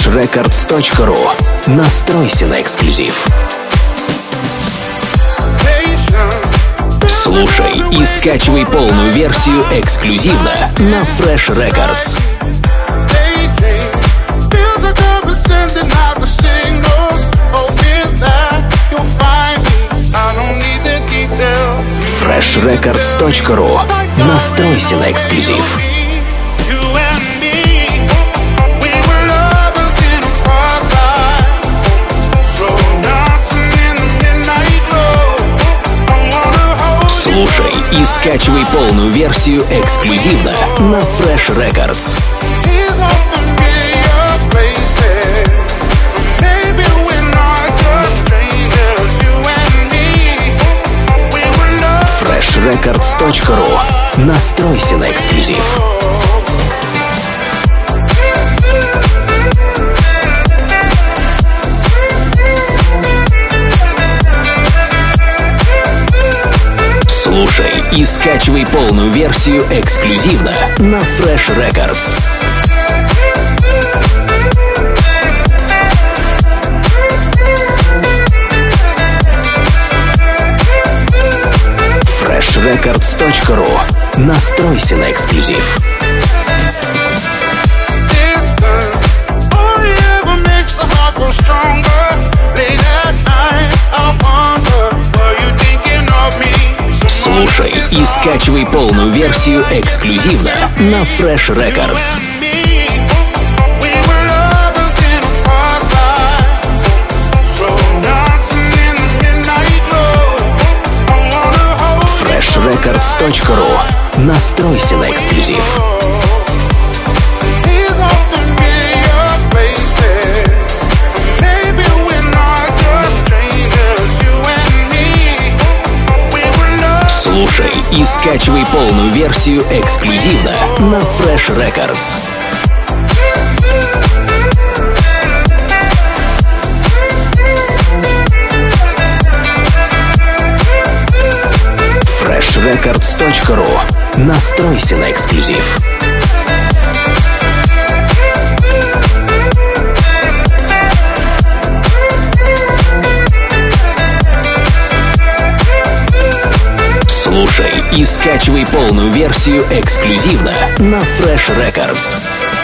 freshrecords.ru. Настройся на эксклюзив. Слушай и скачивай полную версию эксклюзивно на Fresh Records. freshrecords.ru. Настройся на эксклюзив. Слушай и скачивай полную версию эксклюзивно на Fresh Records. freshrecords.ru. Настройся на эксклюзив. Слушай и скачивай полную версию эксклюзивно на Fresh Records. freshrecords.ru. Настройся на эксклюзив. Слушай и скачивай полную версию эксклюзивно на Fresh Records. freshrecords.ru. Настройся на эксклюзив. Слушай и скачивай полную версию эксклюзивно на Fresh Records. freshrecords.ru. Настройся на эксклюзив. Слушай и скачивай полную версию эксклюзивно на Fresh Records.